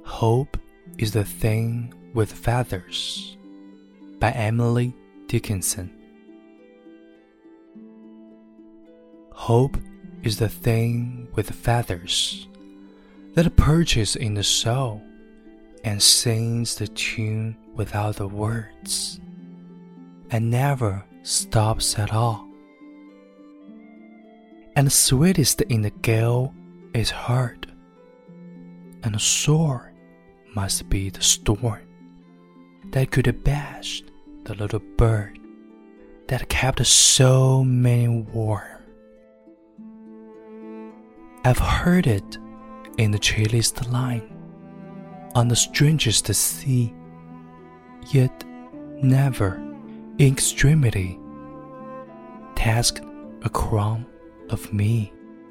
Hope is the Thing with Feathers by Emily Dickinson. Hope is the thing with feathers that perches in the soul and sings the tune without the words and never stops at all. And sweetest in the gale is heard, and sore must be the storm that could abash the little bird that kept so many warm. I've heard it in the chilliest line, on the strangest sea, yet never in extremity tasked a crumb of me.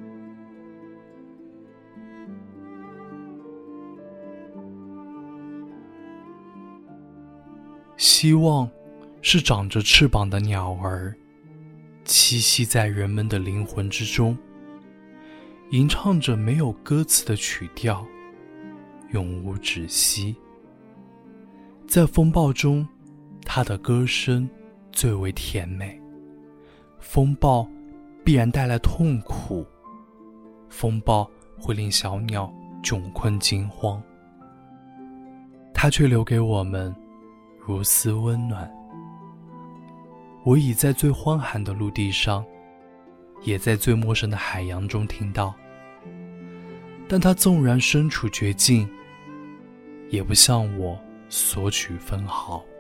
希望是长着翅膀的鸟儿，栖息在人们的灵魂之中，吟唱着没有歌词的曲调，永无止息。在风暴中，它的歌声最为甜美。风暴必然带来痛苦，风暴会令小鸟窘困惊慌，它却留给我们如丝温暖。我已在最荒寒的陆地上，也在最陌生的海洋中听到，但它纵然身处绝境，也不向我索取分毫。